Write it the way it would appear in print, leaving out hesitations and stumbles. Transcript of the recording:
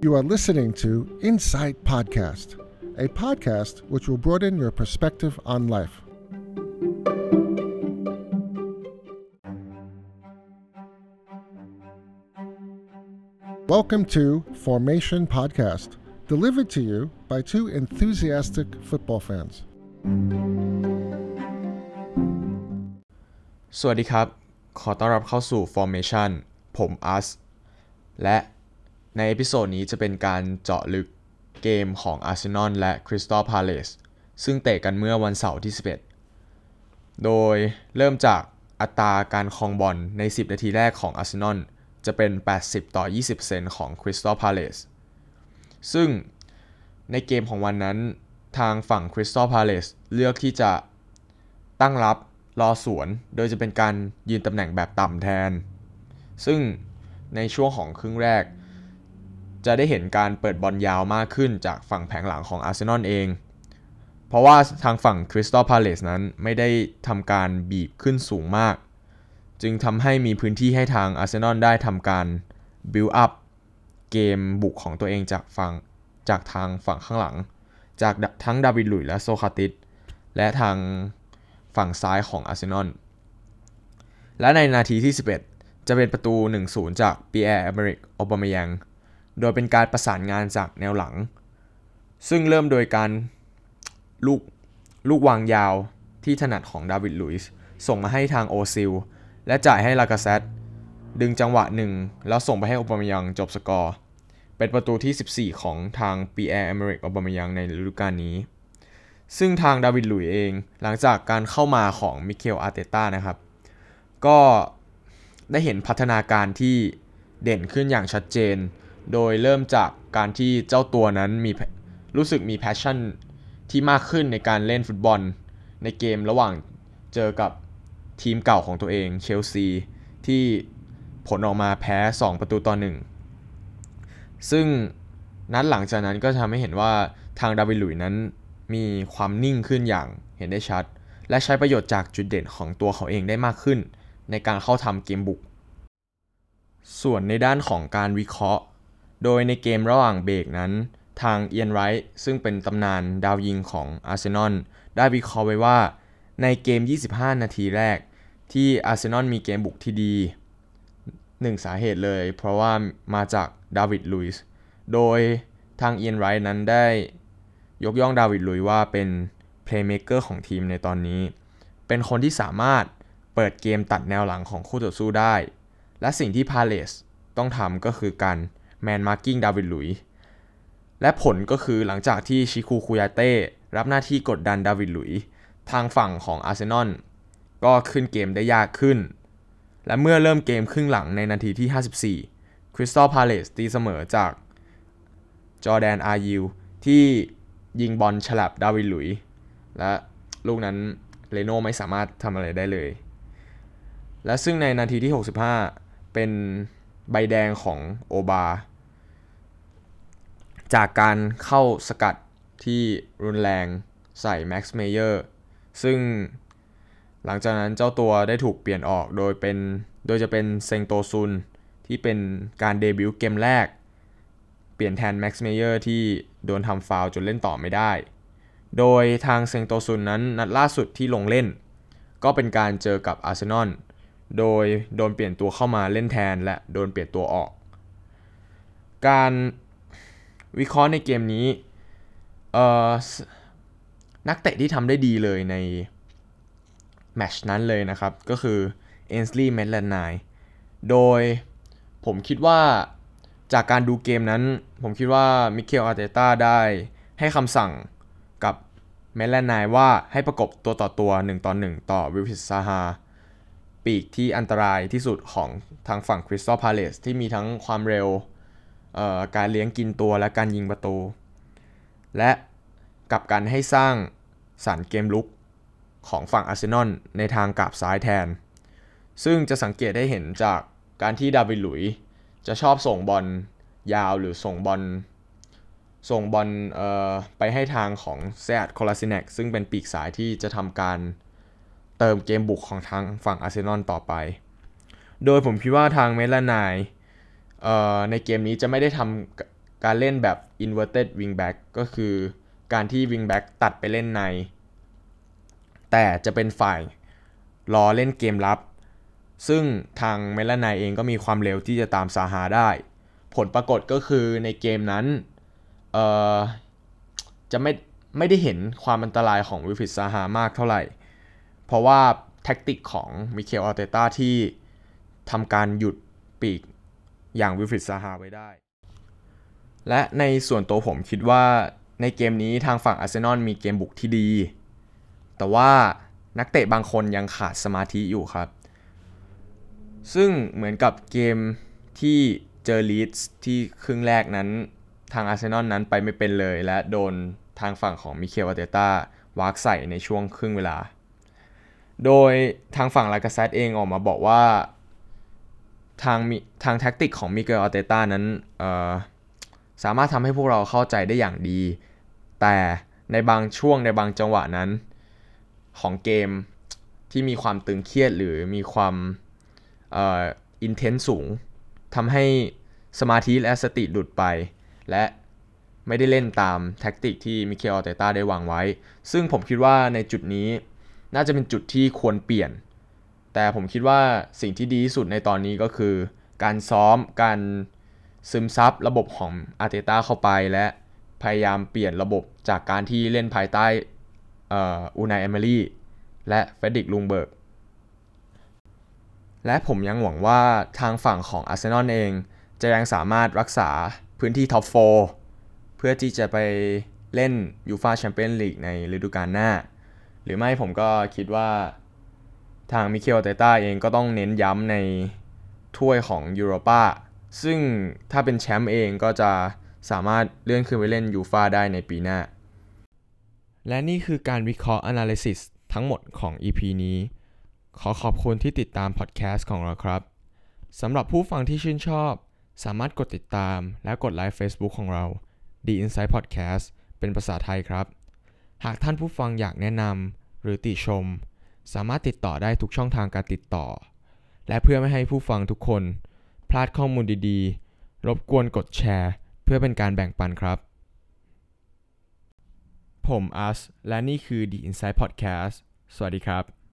You are listening to Insight Podcast, a podcast which will broaden your perspective on life. Welcome to Formation Podcast, delivered to you by two enthusiastic football fans. สวัสดีครับขอต้อนรับเข้าสู่ Formation ผมอัสและในเอพิโซดนี้จะเป็นการเจาะลึกเกมของ Arsenal และ Crystal Palace ซึ่งเตะกันเมื่อวันเสาร์ที่ 11 โดยเริ่มจากอัตราการครองบอลใน 10 นาทีแรกของ Arsenal จะเป็น 80-20% ของ Crystal Palace ซึ่งในเกมของวันนั้นทางฝั่ง Crystal Palace เลือกที่จะตั้งรับรอสวนโดยจะเป็นการยืนตำแหน่งแบบต่ำแทนซึ่งในช่วงของครึ่งแรกจะได้เห็นการเปิดบอลยาวมากขึ้นจากฝั่งแผงหลังของ Arsenal เองเพราะว่าทางฝั่ง Crystal Palace นั้นไม่ได้ทำการบีบขึ้นสูงมากจึงทำให้มีพื้นที่ให้ทาง Arsenal ได้ทำการ build up เกมบุกของตัวเองจากทางฝั่งข้างหลังจากทั้งดาวิด ลุยส์และโซคราติสและทางฝั่งซ้ายของ Arsenal และในนาทีที่ 11 จะเป็นประตู 1-0 จากปีแอร์ Emerick Aubameyang โดยเป็นการประสานงานจากแนวหลังซึ่งเริ่มโดยการลูกวางยาวที่ถนัดของดาวิด ลุยส์ส่งมาให้ทางโอซิลและจ่ายให้ลากาเซตดึงจังหวะหนึ่งแล้วส่งไปให้ Aubameyang จบสกอร์เป็นประตูที่ 14 ของทางปีแอร์ Emerick Aubameyang ในฤดูกาลนี้ซึ่งทางดาวิด ลุยส์เองหลังจากการเข้ามาของมิเคล อาร์เตต้านะครับก็ได้เห็นพัฒนาการที่เด่นขึ้นอย่างชัดเจนโดยเริ่มจากการที่เจ้าตัวนั้นรู้สึกมีแพชชั่นที่มากขึ้นในการเล่นฟุตบอลในเกมระหว่างเจอกับทีมเก่าของตัวเองเชลซีที่ผลออกมาแพ้2-1ซึ่งนัดหลังจากนั้นก็ทำให้เห็นว่าทางดาวิด ลุยส์นั้นมีความนิ่งขึ้นอย่างเห็นได้ชัดและใช้ประโยชน์จากจุดเด่นของตัวเขาเองได้มากขึ้นในการเข้าทำเกมบุกส่วนในด้านของการวิเคราะห์โดยในเกมระหว่างเบรกนั้นทางเอียนไรท์ซึ่งเป็นตำนานดาวยิงของอาร์เซนอลได้วิเคราะห์ไว้ว่าในเกม25นาทีแรกที่อาร์เซนอลมีเกมบุกที่ดี1สาเหตุเลยเพราะว่ามาจากดาวิด ลุยส์โดยทางเอียนไรท์นั้นได้ยกย่องดาวิด ลุยส์ว่าเป็นเพลย์เมคเกอร์ของทีมในตอนนี้เป็นคนที่สามารถเปิดเกมตัดแนวหลังของคู่ต่อสู้ได้และสิ่งที่พาเลสต้องทำก็คือการแมนมาร์กิ้งดาวิด ลุยส์และผลก็คือหลังจากที่ชิคูคุยาเต้รับหน้าที่กดดันดาวิด ลุยส์ทางฝั่งของอาร์เซนอลก็ขึ้นเกมได้ยากขึ้นและเมื่อเริ่มเกมครึ่งหลังในนาทีที่54 Crystal Palace ตีเสมอจากจอร์แดน อายิวที่ยิงบอลฉลับดาวิด ลุยส์และลูกนั้นเรโน่ไม่สามารถทำอะไรได้เลยและซึ่งในนาทีที่65เป็นใบแดงของโอบาจากการเข้าสกัดที่รุนแรงใส่แม็กซ์เมเยอร์ซึ่งหลังจากนั้นเจ้าตัวได้ถูกเปลี่ยนออกโดยจะเป็นเซงโตซุนที่เป็นการเดบิวต์เกมแรกเปลี่ยนแทนแม็กซ์เมเยอร์ที่โดนทำฟาวล์จนเล่นต่อไม่ได้โดยทางเซงโตซุนนั้นนัดล่าสุดที่ลงเล่นก็เป็นการเจอกับอาร์เซนอลโดยโดนเปลี่ยนตัวเข้ามาเล่นแทนและโดนเปลี่ยนตัวออกการวิเคราะห์ในเกมนี้นักเตะที่ทำได้ดีเลยในแมตช์นั้นเลยนะครับก็คือเอ็นส์ลีย์ เมทแลนไนน์โดยผมคิดว่าจากการดูเกมนั้นผมคิดว่ามิเคล อาร์เตต้าได้ให้คำสั่งกับเมทแลนไนน์ว่าให้ประกบตัวต่อตัว1-1ต่อวิลฟริด ซาฮาปีกที่อันตรายที่สุดของทางฝั่ง Crystal Palace ที่มีทั้งความเร็วการเลี้ยงกินตัวและการยิงประตูและกับการให้สร้างสรรค์เกมลุกของฝั่งอาร์เซนอลในทางกราบซ้ายแทนซึ่งจะสังเกตได้เห็นจากการที่ดาวิด ลุยส์จะชอบส่งบอลยาวหรือส่งบอลไปให้ทางของเซอัต โคลาซิเนกซึ่งเป็นปีกซ้ายที่จะทำการเติมเกมบุกของทางฝั่งอาร์เซนอลต่อไปโดยผมคิดว่าทางเมทแลนไนน์ในเกมนี้จะไม่ได้ทำการเล่นแบบ inverted wingback ก็คือการที่ wingback ตัดไปเล่นในแต่จะเป็นฝ่ายรอเล่นเกมรับซึ่งทางเมลานายเองก็มีความเร็วที่จะตามซาฮาได้ผลปรากฏก็คือในเกมนั้นจะไม่ได้เห็นความอันตรายของวิลฟริดซาฮามากเท่าไหร่เพราะว่าแท็กติกของมิเคลอาร์เตต้าที่ทำการหยุดปีกอย่างวิลฟริดซาฮาไว้ได้และในส่วนตัวผมคิดว่าในเกมนี้ทางฝั่งอาร์เซนอลมีเกมบุกที่ดีแต่ว่านักเตะบางคนยังขาดสมาธิอยู่ครับซึ่งเหมือนกับเกมที่เจอลีดส์ที่ครึ่งแรกนั้นทางอาร์เซนอลนั้นไปไม่เป็นเลยและโดนทางฝั่งของมิเคลอาร์เตต้าวากใส่ในช่วงครึ่งเวลาโดยทางฝั่งลากาเซตเองออกมาบอกว่าทางแท็กติกของมิเคลอาร์เตต้านั้นสามารถทำให้พวกเราเข้าใจได้อย่างดีแต่ในบางช่วงในบางจังหวะนั้นของเกมที่มีความตึงเครียดหรือมีความอินเทนส์สูงทำให้สมาธิและสติหลุดไปและไม่ได้เล่นตามแท็กติกที่มิเคลอาร์เตต้าได้วางไว้ซึ่งผมคิดว่าในจุดนี้น่าจะเป็นจุดที่ควรเปลี่ยนแต่ผมคิดว่าสิ่งที่ดีที่สุดในตอนนี้ก็คือการซ้อมการซึมซับระบบของอาร์เตต้าเข้าไปและพยายามเปลี่ยนระบบจากการที่เล่นภายใต้อูนาย เอเมรี่และเฟรดริก ลุงเบิร์กและผมยังหวังว่าทางฝั่งของอาร์เซนอลเองจะยังสามารถรักษาพื้นที่ท็อป4เพื่อที่จะไปเล่นยูฟ่าแชมเปี้ยนลีกในฤดูกาลหน้าหรือไม่ผมก็คิดว่าทางมิเคลอาร์เตต้าเองก็ต้องเน้นย้ำในถ้วยของยูโรปาซึ่งถ้าเป็นแชมป์เองก็จะสามารถเลื่อนขึ้นไปเล่นยูฟ่าได้ในปีหน้าและนี่คือการวิเคราะห์ analysis ทั้งหมดของ EP นี้ขอขอบคุณที่ติดตามพอดแคสต์ของเราครับสำหรับผู้ฟังที่ชื่นชอบสามารถกดติดตามและกดไลค์ Facebook ของเรา The Insight Podcast เป็นภาษาไทยครับหากท่านผู้ฟังอยากแนะนำหรือติชมสามารถติดต่อได้ทุกช่องทางการติดต่อและเพื่อไม่ให้ผู้ฟังทุกคนพลาดข้อมูลดีๆรบกวนกดแชร์เพื่อเป็นการแบ่งปันครับผมอัสและนี่คือ The Insight Podcast สวัสดีครับ